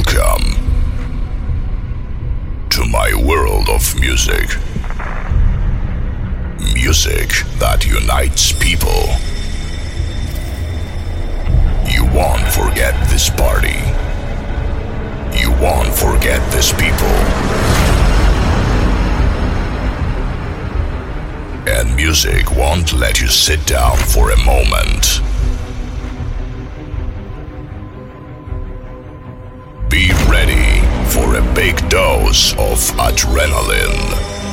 Welcome to my world of music. Music that unites people. You won't forget this party. You won't forget these people. And music won't let you sit down for a moment. Be ready for a big dose of adrenaline.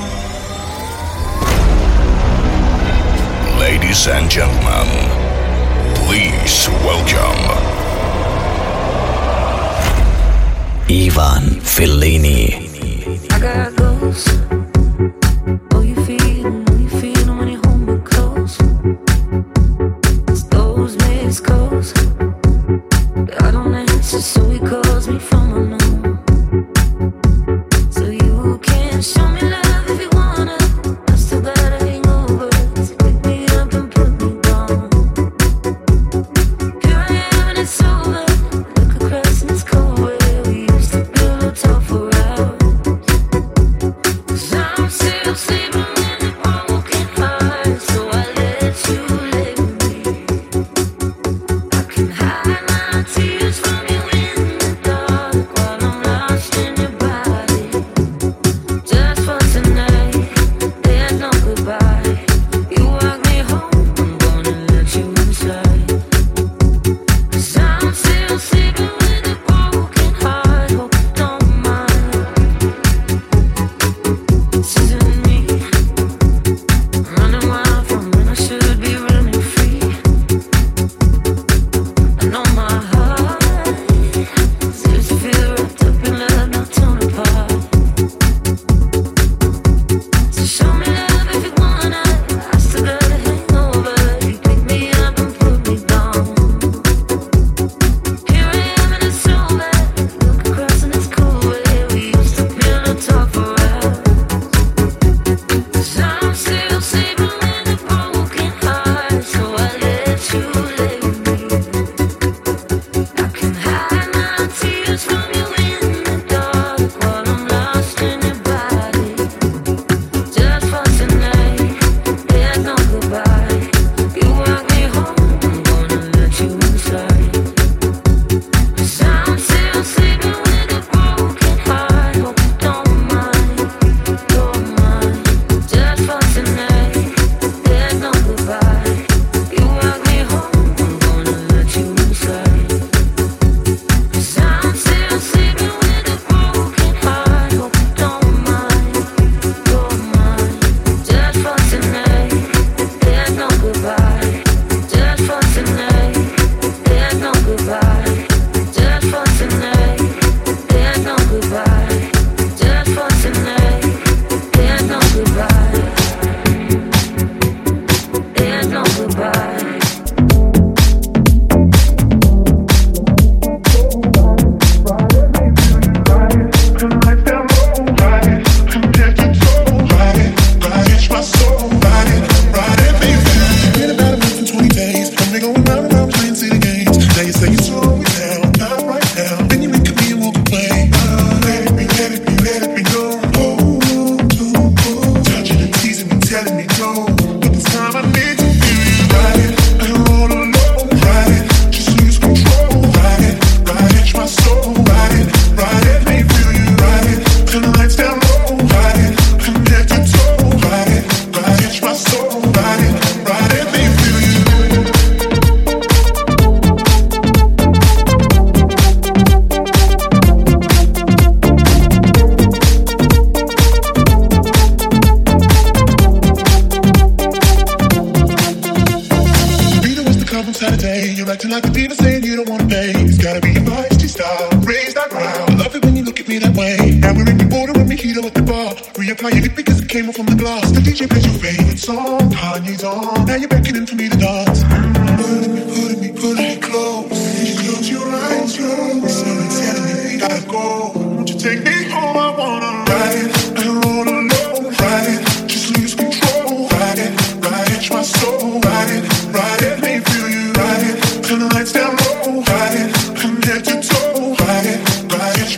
Ladies and gentlemen, please welcome Ivan Fellini. I got ghosts. Oh, you feel when you hold me close. It's those missed calls. I don't answer, so he calls me from unknown. So you can show me love if you wanna. I still got a hangover. So pick me up and put me down. Here I am and it's over. Look across and it's cold where we used to pillow talk for hours. 'Cause I'm still sleeping in the broken heart. So I let you lay with me. I can hide my tears from you in the dark while I'm lost in your body. Just for tonight, there's no goodbye. You walk me home, I'm gonna let you inside. 'Cause I'm still sleeping with a broken heart. Hope you don't mind. This isn't me, running wild from when I should be running free. I know my heart seems to feel wrapped up in love, not torn apart. So show me love if you wanna. I still got a hangover. You pick me up and put me down. Here I am and it's over. Look across and it's cold where we used to pillow talk for hours. 'Cause I'm still sleeping with a broken heart. So I let you lay with me. I can hide my tears from you in the dark while I'm lost in your body. Just for tonight, there's no goodbye. You walk me home, I'm gonna let you inside. 'Cause I'm still sleeping with a broken heart. Hope you don't mind, don't mind. Just for tonight, there's no goodbye. You walk me home, I'm gonna let you inside. 'Cause I'm still sleeping with a broken heart. Hope you don't mind, don't mind. Just for tonight, there's no goodbye. Just for tonight, there's no goodbye. Just for tonight, there's no goodbye. Just for tonight, there's no goodbye. There's no goodbye. Saturday, you're acting like a diva saying you don't wanna pay. It's gotta be your feisty style, raise that ground. I love it when you look at me that way. Now we're in the border with mojito at the bar. Reapply your lip because it came off from the glass. The DJ plays your favorite song, Kanye's on. Now you're beckoning for me to dance. Pulling me close. You close your eyes, you're slowly telling me we gotta go. Won't you take me home? I wanna ride it and roll alone. Ride it, just lose control. Ride it, catch my soul. Ride it, make me feel you. Ride it, turn the lights down low. Ride it, from head to toe. Ride it,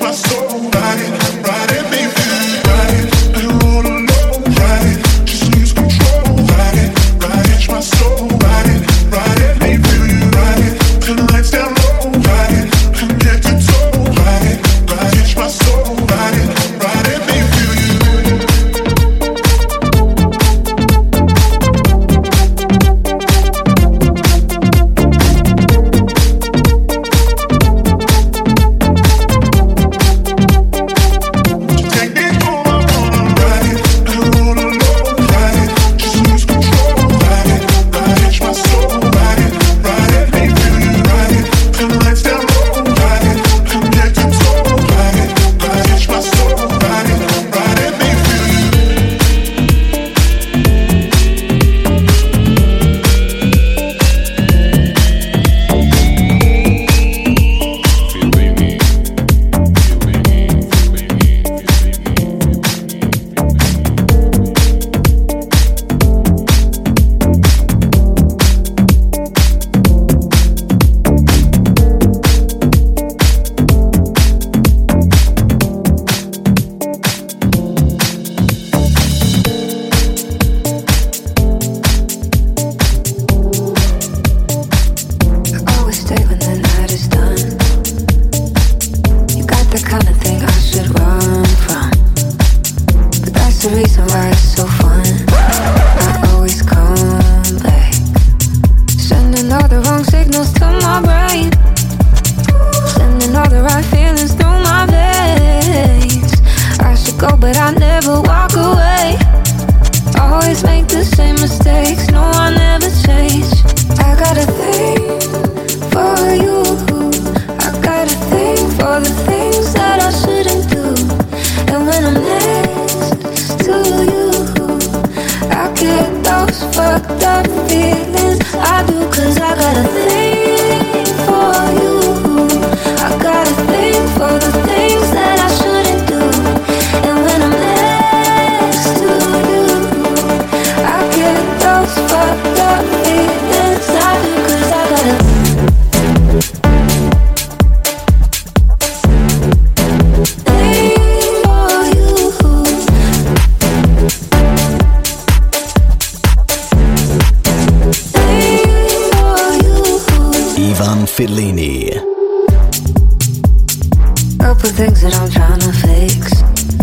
couple things that I'm trying to fix,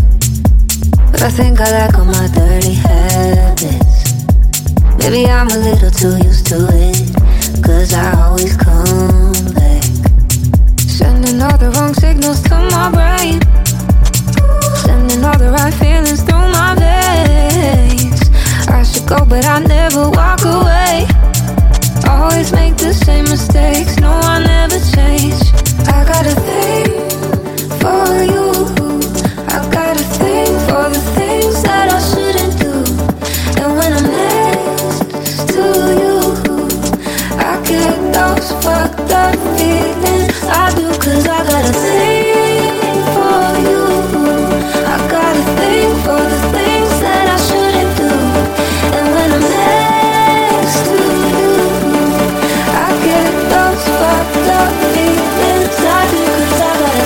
but I think I like all my dirty habits. Maybe I'm a little too used to it, 'cause I always come back, sending all the wrong signals to my brain, sending all the right feelings through my veins. I should go but I never walk away, always make the same mistakes, no I never change. I got a thing for you, I got a thing for the things that I shouldn't do, and when I'm next to you I get those fucked up feelings. I do, 'cause I got a thing for you, I got a thing for the things that I shouldn't do, and when I'm next to you I get those fucked up feelings. I do, 'cause I got a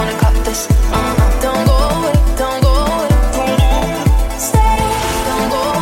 Don't go away, don't go away. Stay, don't go away.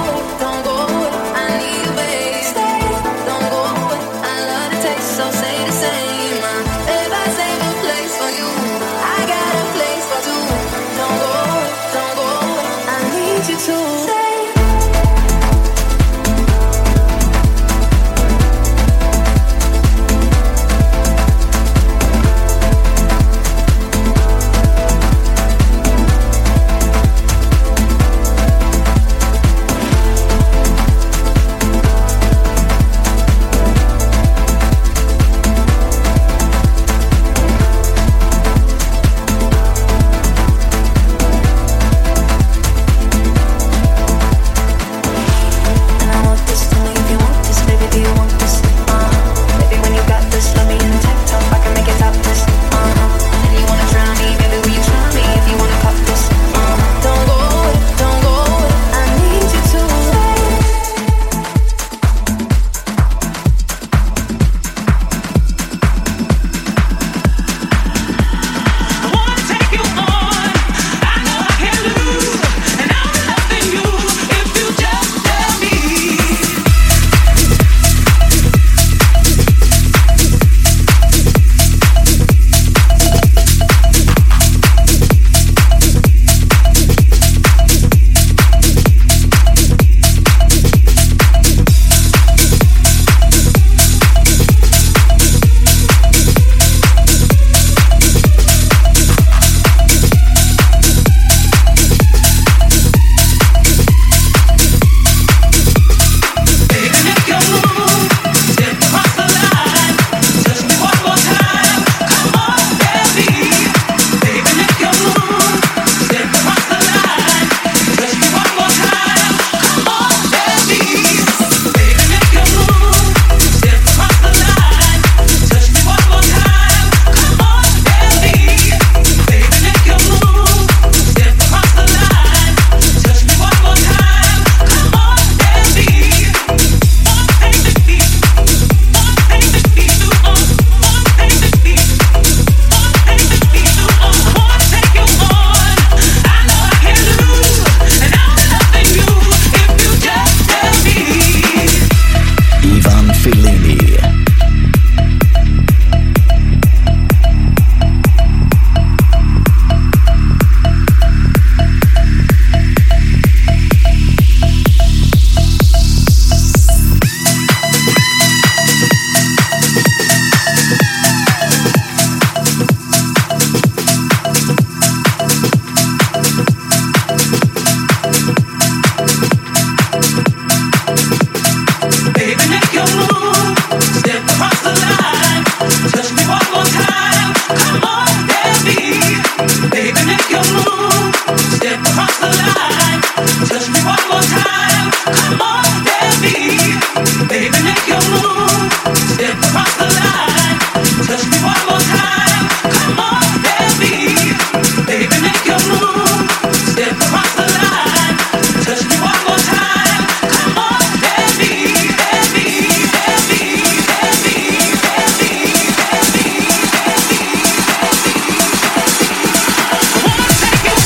Take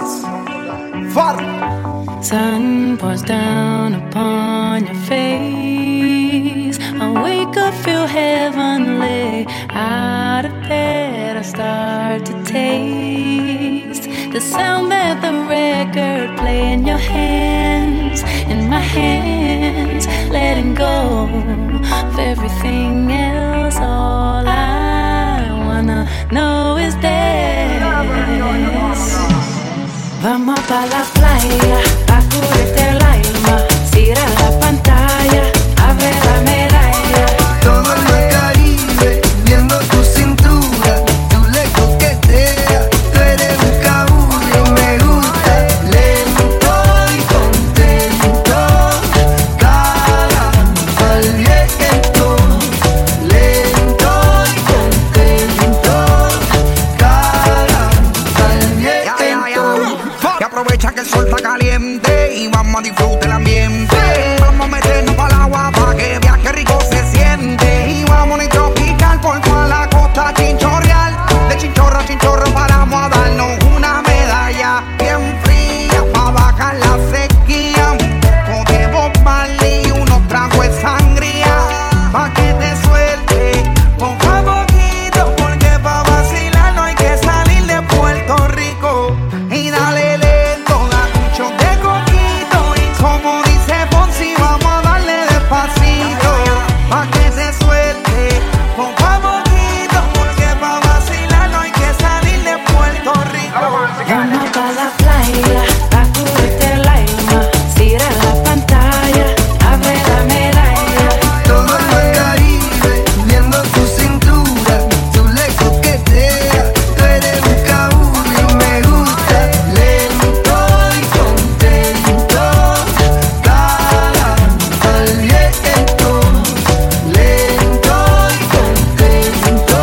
Far. Sun pours down upon your face. I wake up, feel heavenly. Out of bed, I start to taste the sound that the record play in your hands, in my hands, letting go of everything else. All I wanna know is this. Vamos pa' la playa, a curarte el alma. Cierra la pantalla, abre la medalla. Todo en el Caribe, viendo tu cintura. Tú le coqueteas, tú eres un cabullo. Me gusta lento y contento. Cara al viento. Lento y contento. Cara al viento. Y aprovecha que el sol está caliente y vamos a disfrutar el ambiente. Vamos a meternos para el agua para que viaje rico se siente. Y vamos a tropical por toda la costa chinchorreal. De chinchorro a chinchorro paramos a darnos una medalla bien fría para bajar la sequía. Podemos Marley y unos tragos de sangría pa' que te suelte poco a poquito, porque pa' vacilar no hay que salir de Puerto Rico. Y dale lento, da mucho de coquito. Y como dice Fonsi, vamos a darle despacito pa' que se suelte poco a poquito, porque pa' vacilar no hay que salir de Puerto Rico. Vamos pa' la playa, a curarte el alma. Cierra la pantalla, abre la medalla. Todo en el Caribe, viendo tu cintura. Tú le coqueteas, tú eres un cabullo. Y me gusta lento y contento. Cara al viento. Lento y contento.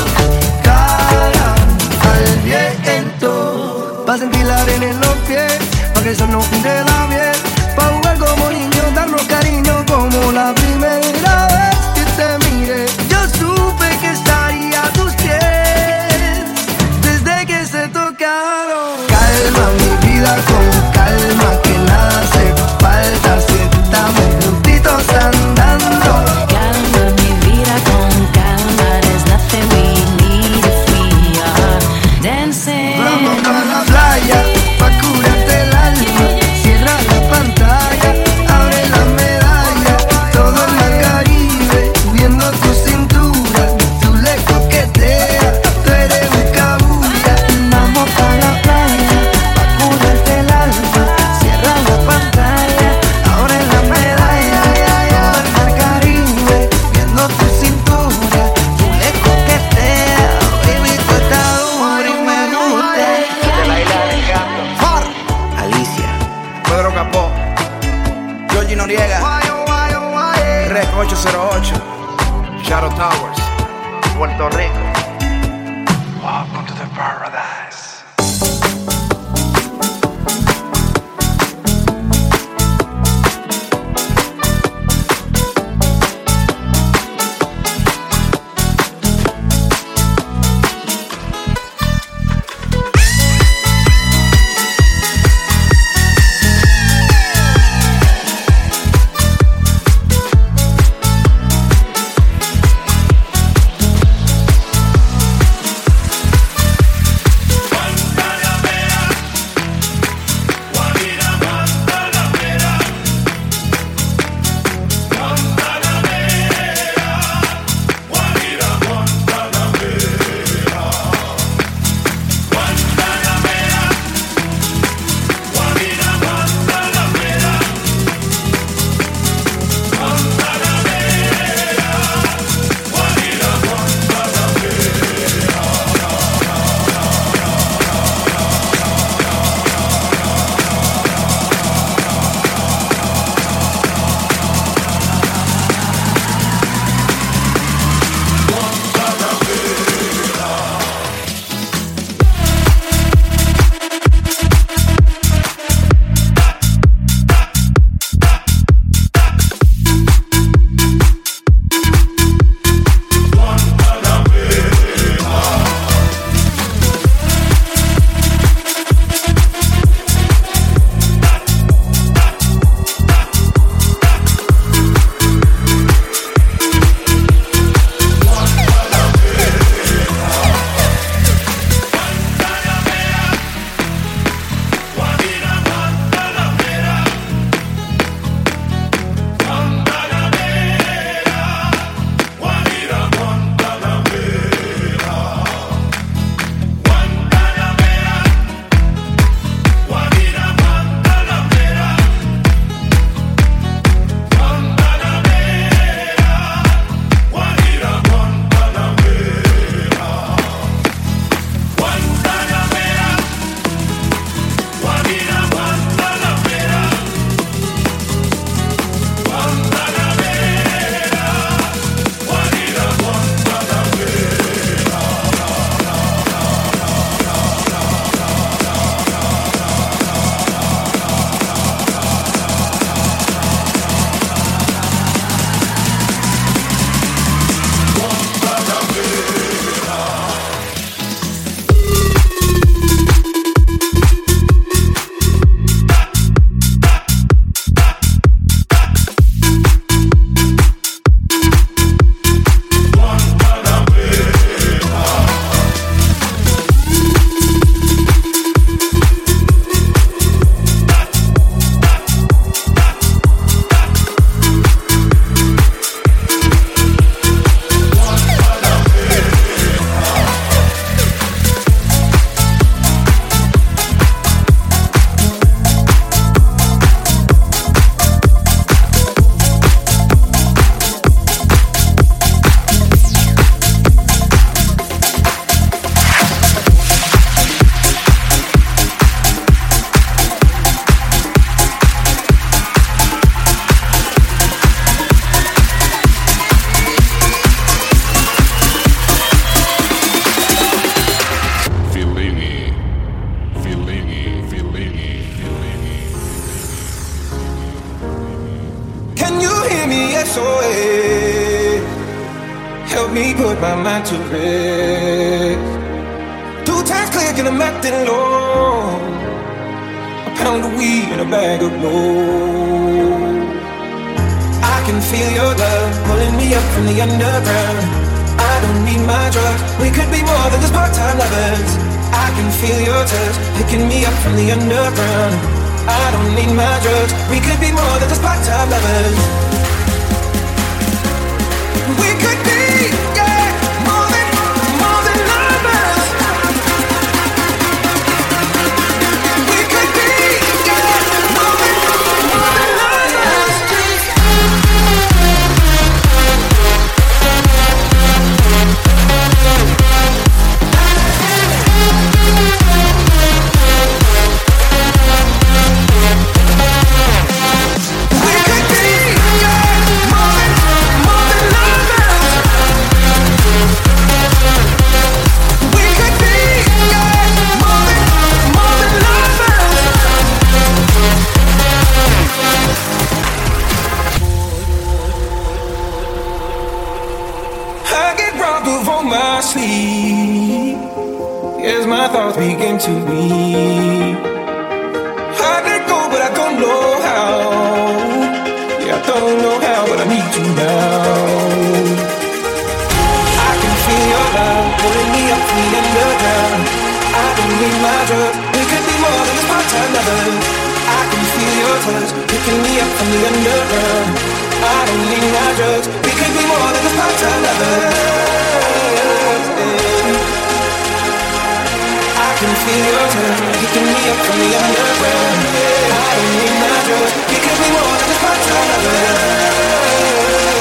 Cara al viento. Pa' sentir la arena en los pies, pa' que el sol nos pinte la piel. Pa' jugar como niños, darnos cariño como la primera vez que te miré. Yo supe que estaría a tus pies desde que se tocaron. Calma mi vida con calma, que nada hace falta si estamos juntitos andando. Calma mi vida con calma. There's nothing we need if we are dancing. Vamos pa' la playa, pa' curarte el alma. Cierra la pantalla, abre la medalla. Todo en el Caribe, viendo tu cintura. Tú le coqueteas, tú eres un cabulla. Vamos pa' la playa, pa' curarte el alma. Cierra la pantalla, abre la medalla. Todo en el Caribe, viendo tu cintura. Tú le coqueteas, baby, tú estás dura y me gusta. De la isla del Encanto. Far. Alicia, Pedro Capó, Georgie Noriega, Rec 808, Shadow Towers, Puerto Rico. Welcome to the paradise. nights away. Help me put my mind to rest. 2 times click and I'm acting low. A pound of weed and a bag of blow. I can feel your love pulling me up from the underground. I don't need my drugs. We could be more than just part-time lovers. I can feel your touch picking me up from the underground. I don't need my drugs. We could be more than just part-time lovers. We could be, yeah, more than lovers. We could be, yeah, more than lovers. As my thoughts begin to leave, I let go, but I don't know how. Yeah, I don't know how, but I need you now. I can feel your love pulling me up from the underground. I don't need my drugs. We could be more than just part-time lovers. I can feel your touch picking me up from the underground. I don't need my drugs. We could be more than just part-time lovers. I can feel your touch picking me up from the underground. I don't need my drugs. We could be more than just part-time lovers.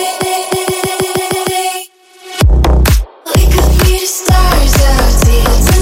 Stars out here.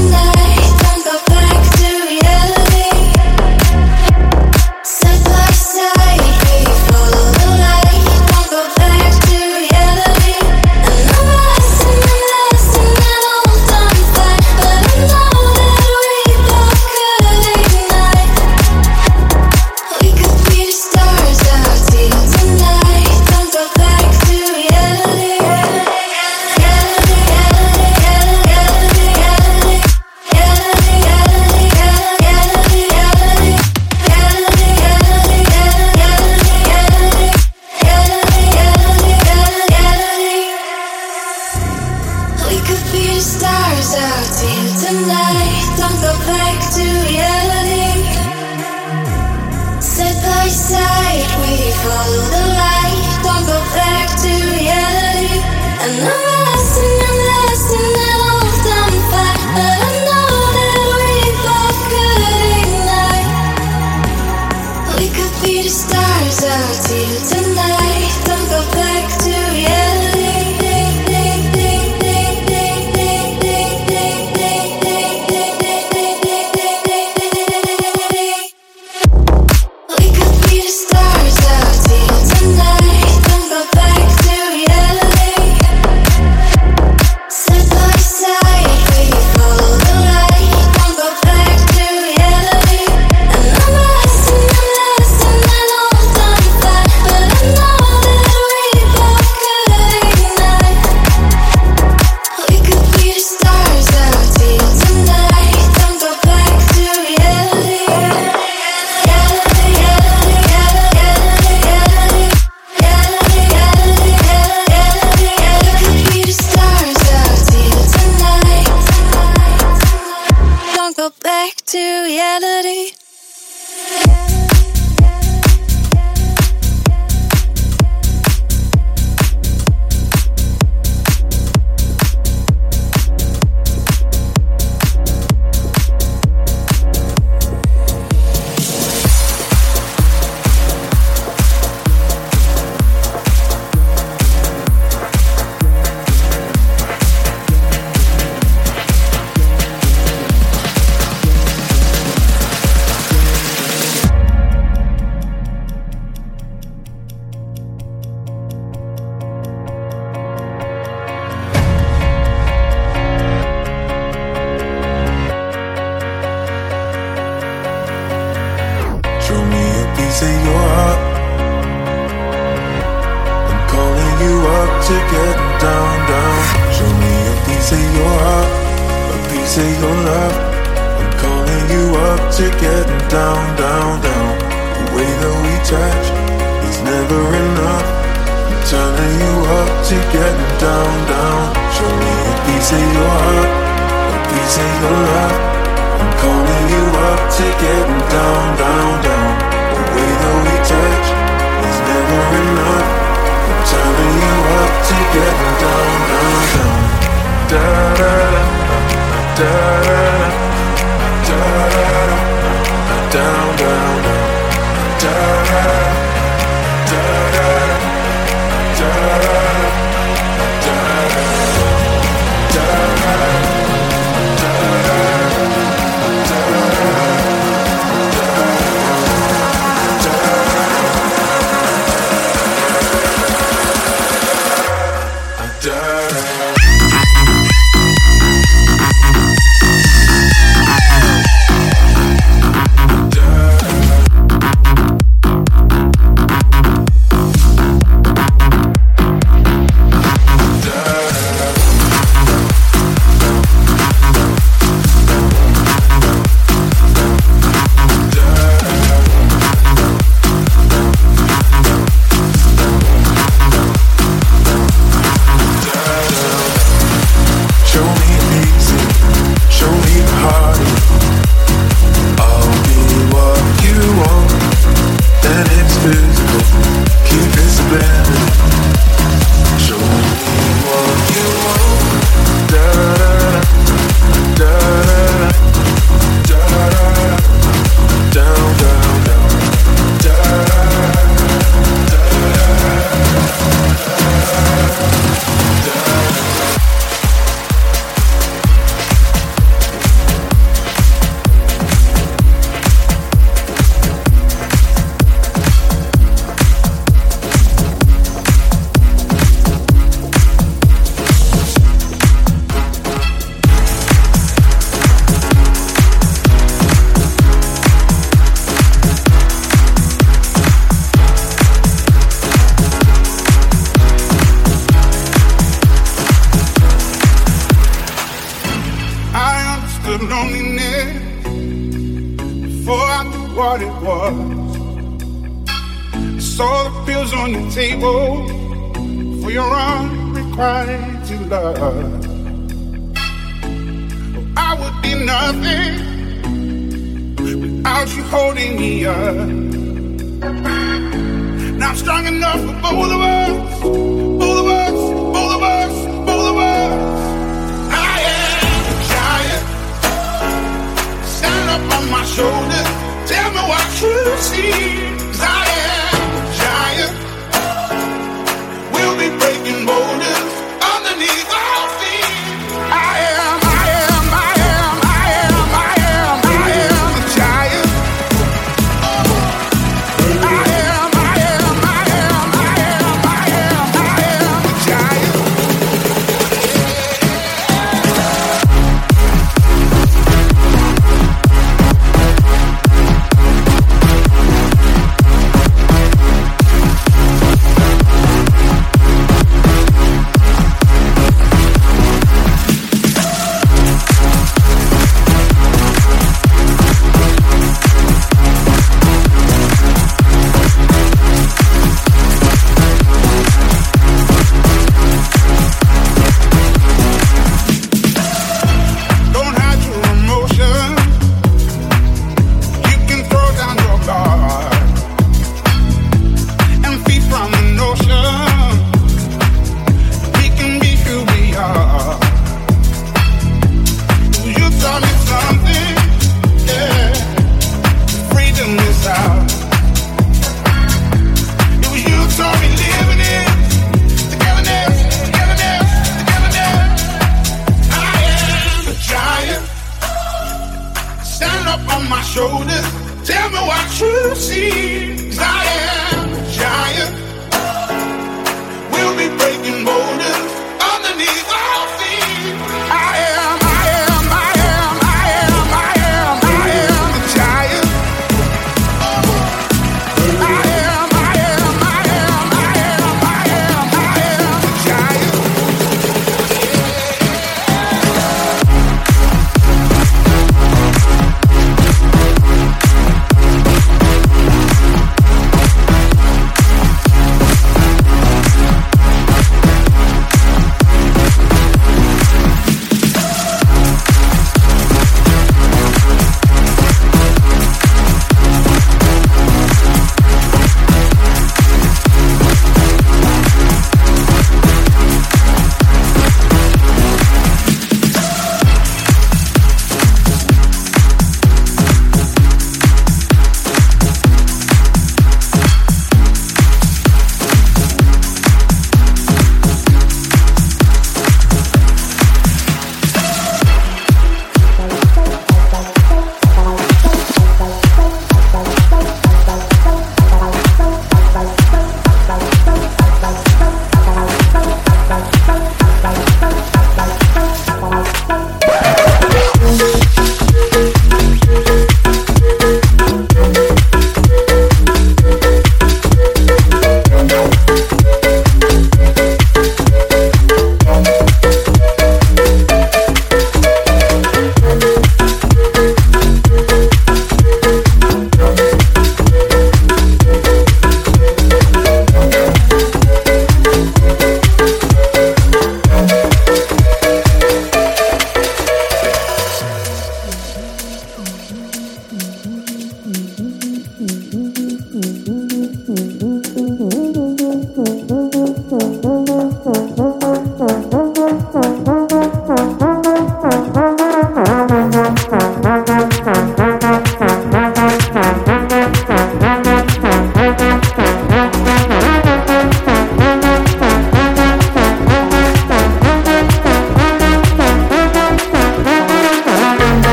to getting down, down. Show me a piece of your heart, a piece of your love. I'm calling you up to getting down, down, down. The way that we touch is never enough. I'm turning you up to getting down, down. Show me a piece of your heart, a piece of your love. I'm calling you up to getting down, down, down. The way that we touch is never enough. I'm turning you up to getting down, down, down. Da da da da da da da down, down, down. Da da da da da da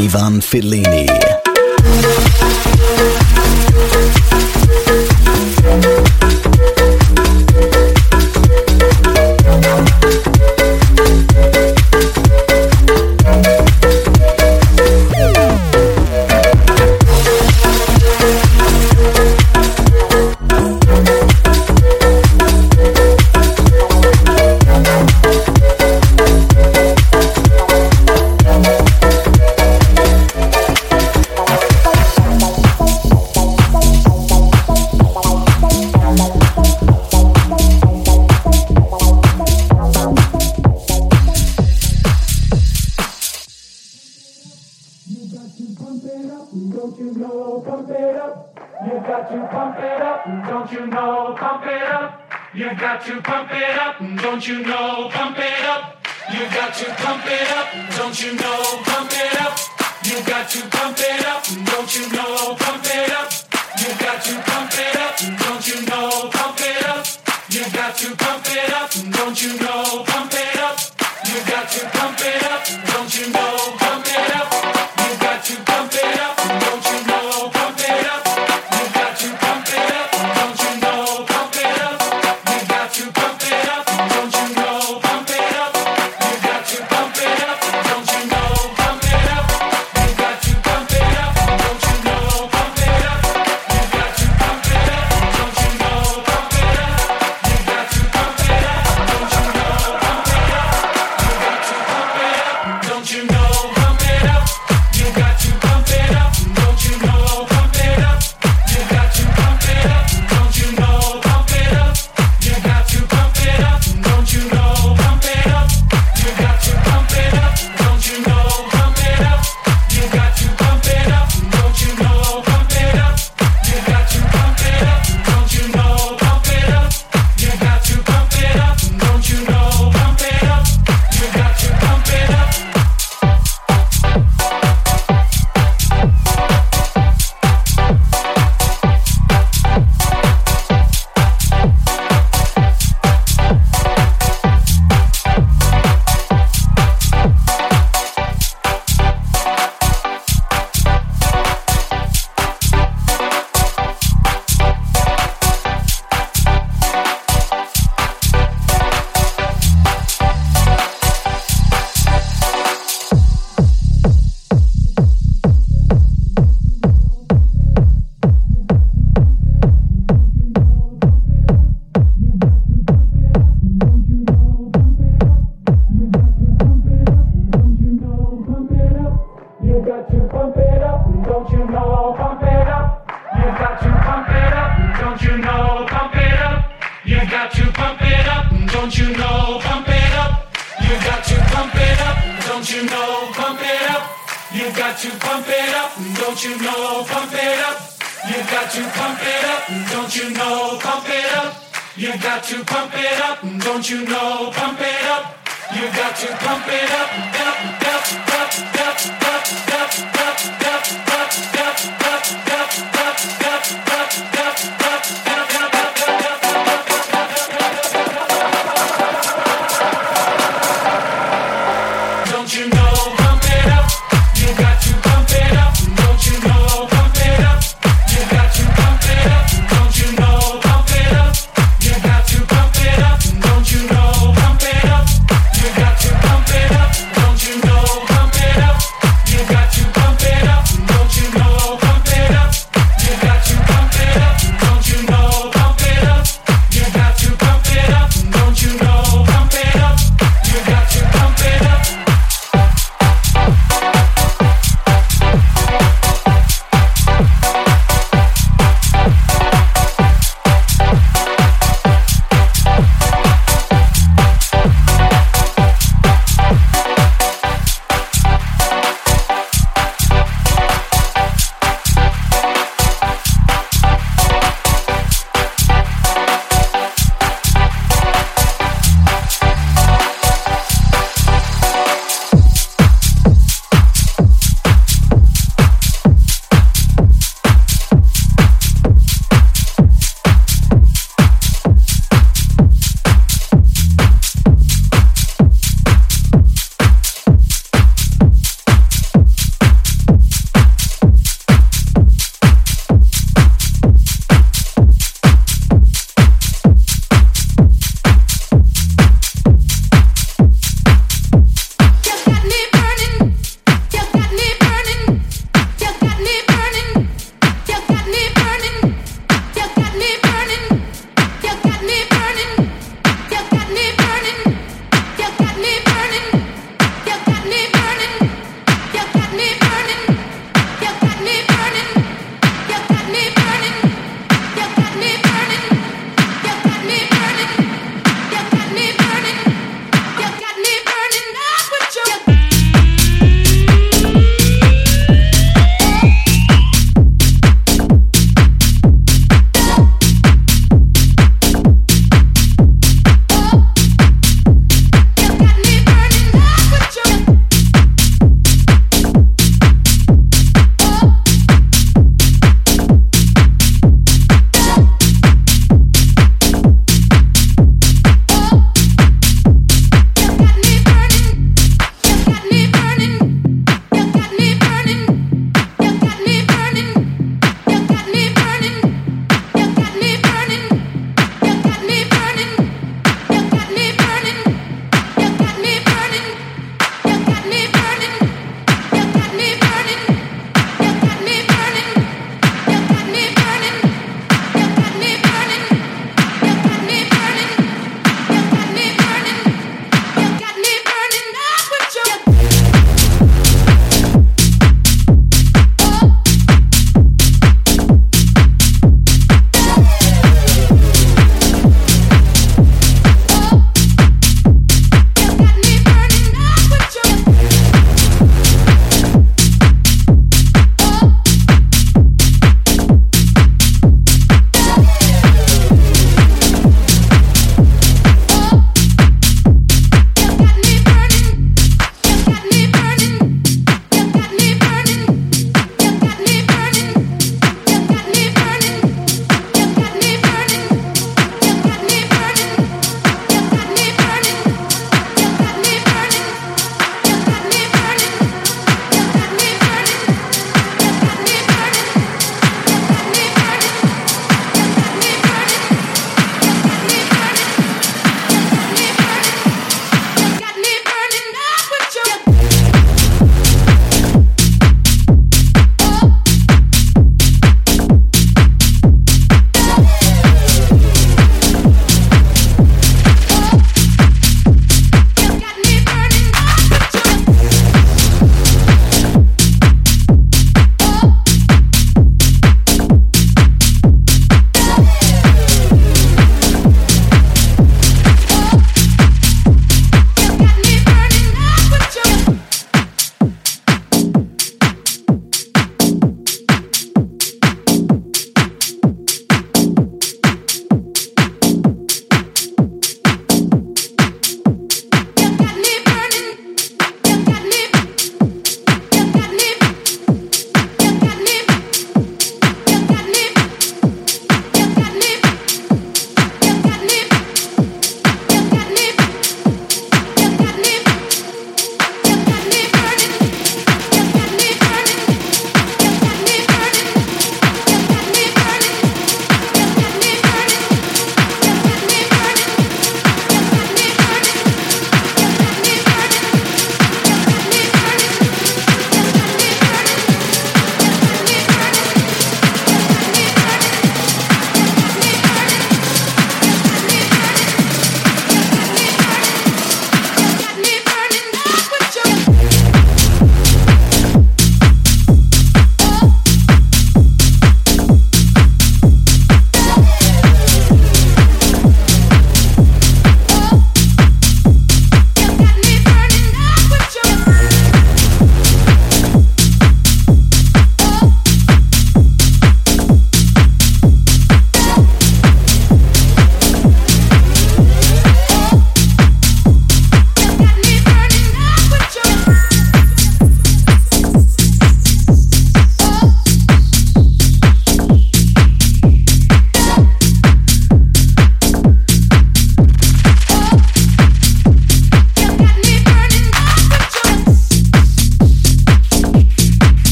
Ivan Fellini.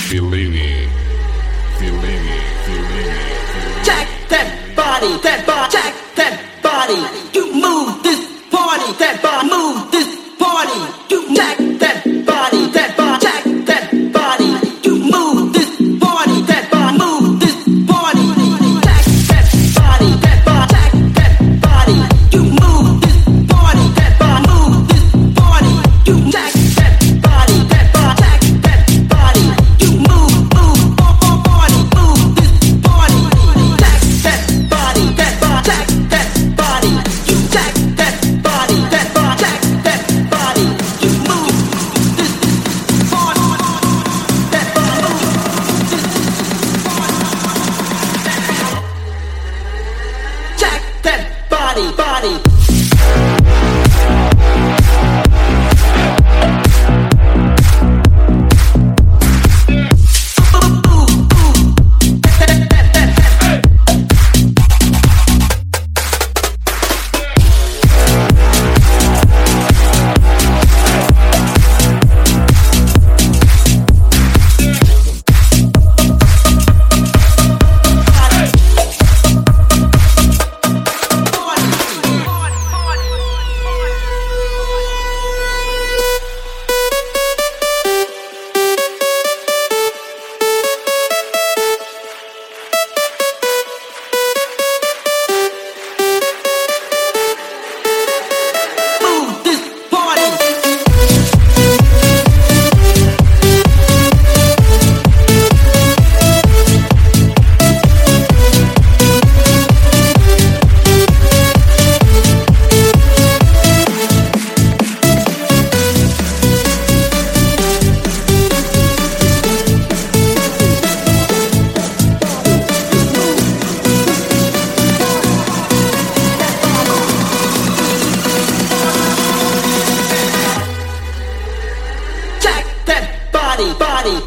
Fellini. Jack that body, check that body. You move this party, that body, move this party. You jack that body, check that body. You move this party, that body, move this party. Jack that body, check that body. You move this party, that body, move this party. You jack that body, check that body. You move party, move this party. Jack that body, jack that body. You jack that body, jack that body. You move this party, that body, move this party. Jack that body. Move this party. Jack that body.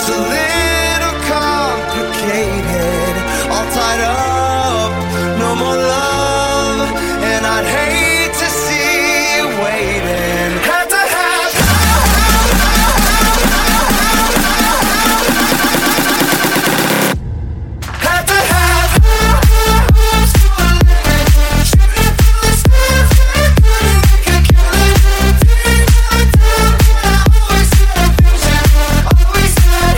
It's a little complicated, all tied up, no more love, and I'd hate to see you waiting. Had to have had to have shooting for the stars, couldn't make a killing. Didn't have a time, but I always had a vision. Always had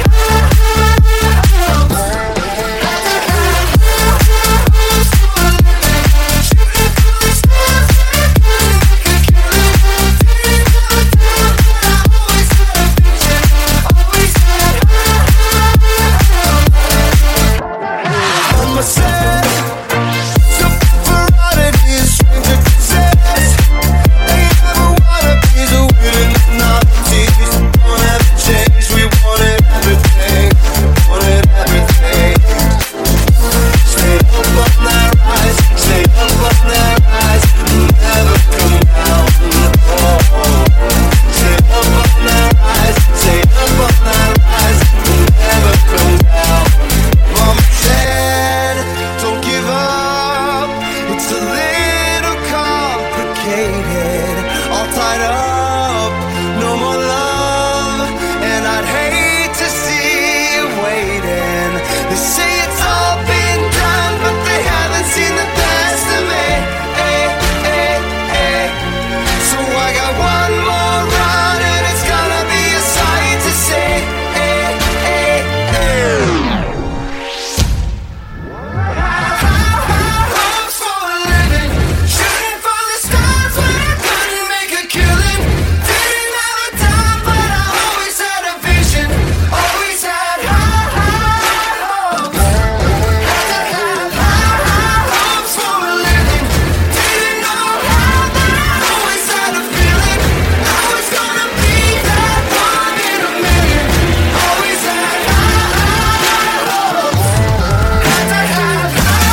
on myself, something for oddities, stranger possessed. Ain't ever wanna be the willing novelties. Don't ever change, we wanted everything, wanted everything. Stay up on that rise, stay up on that rise, never come down. Oh, stay up on that rise, stay up on that rise, never come down. Mama said, don't give up. It's a little complicated, all tied up, no more love, and I'd hate to see you waiting. They say it's all been done, but they haven't seen the best of me. So I got one more run, and it's gonna be a sight to see. Hopes for a living, shooting for the stars when I couldn't make a killing. Didn't have a time, but I always had a vision. Always had high hopes. Had to have high hopes for a living. Didn't know how, but I always had a feeling I was gonna be that one in a million. Always had high hopes. Had to have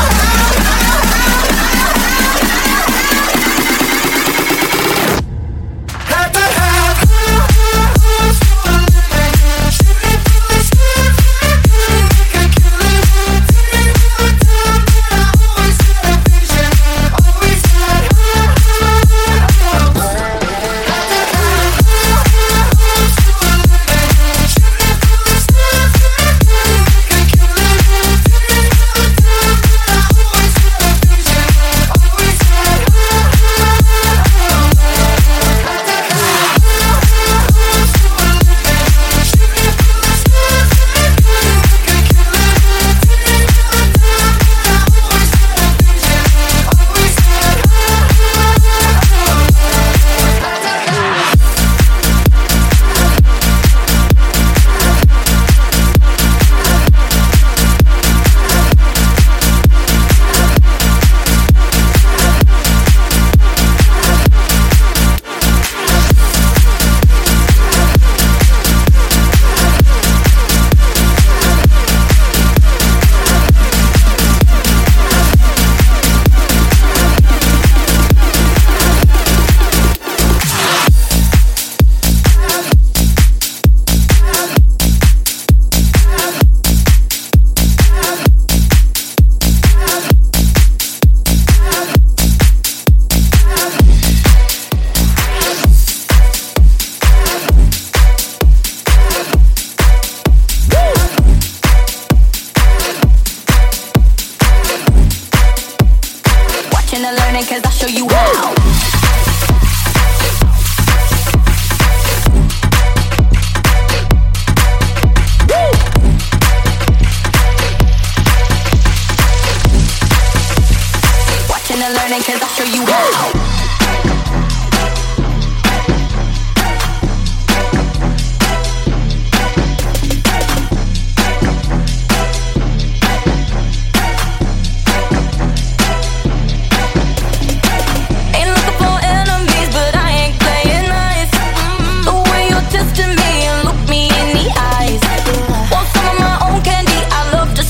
had to have hopes for a living, shooting for the stars when I couldn't make a killing. Didn't have a time, but I always had a vision. Always had hopes. Had to have hopes for a living, shooting for the stars when I couldn't make a killing. Didn't have a time, but I always had a vision. Always had watching and learning, cause I'll show you how. Watching and learning, cause I'll show you how.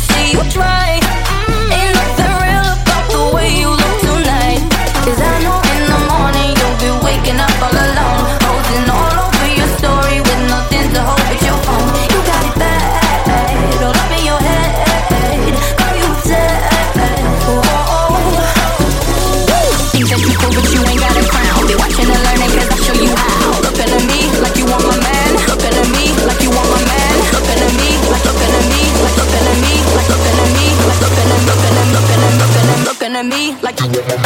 Try. Ain't nothing real about the way you look tonight. 'Cause I know me like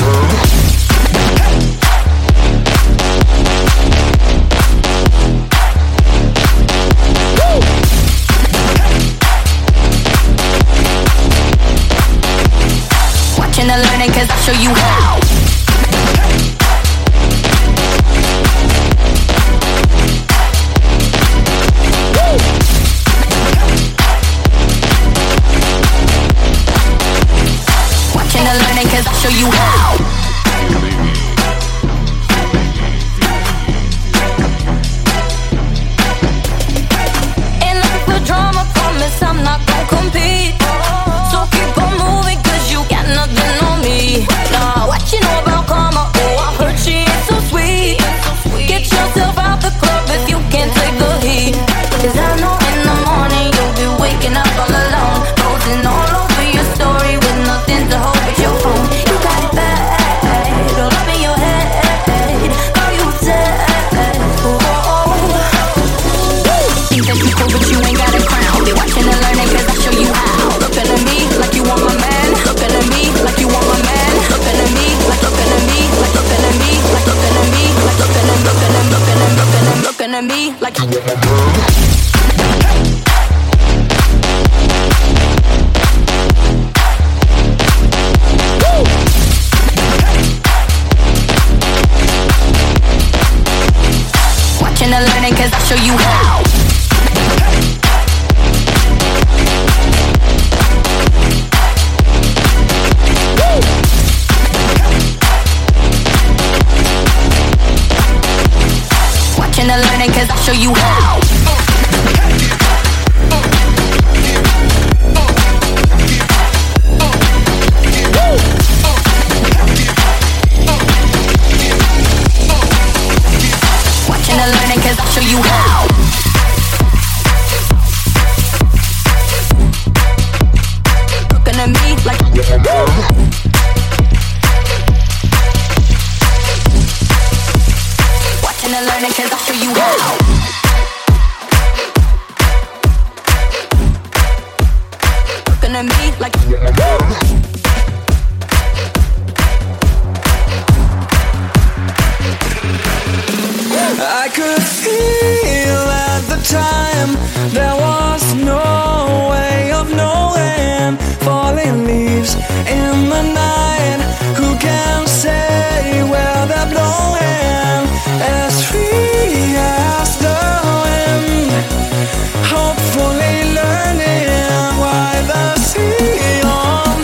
watching and learning, cause I'll show you how. Watching and learning, cause I'll show you how. Ain't looking for drama, promise I'm not gon' compete. So keep on moving, cause you got nothing on me. Nah, what you know about karma? Oh, I heard she ain't so sweet. Get yourself out the club if you can't take the heat. Cause I know in the morning you'll be waking up all alone, posting all over your story with nothing to hold but your phone. You got it bad, all up in your head. Girl, you said, oh. Think that you cool, but you ain't got a crown. Be watching and learning, cause I'll show you how. Looking at me like you want my man. Looking at me like you want my man. Looking at me like looking at me like looking at me like looking at me like looking at me like watching and learning, cause I'll show you how. Watching and learning, cause I'll show you how. Watching and learning, cause I'll show you how. Looking at me like watching and learning, cause I'll show you how. Looking at me like I could feel at the time there was no way of knowing. Falling leaves in the night, who can say where they're blowing? As free as the wind, hopefully learning why the sea on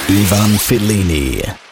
Ivan Fellini.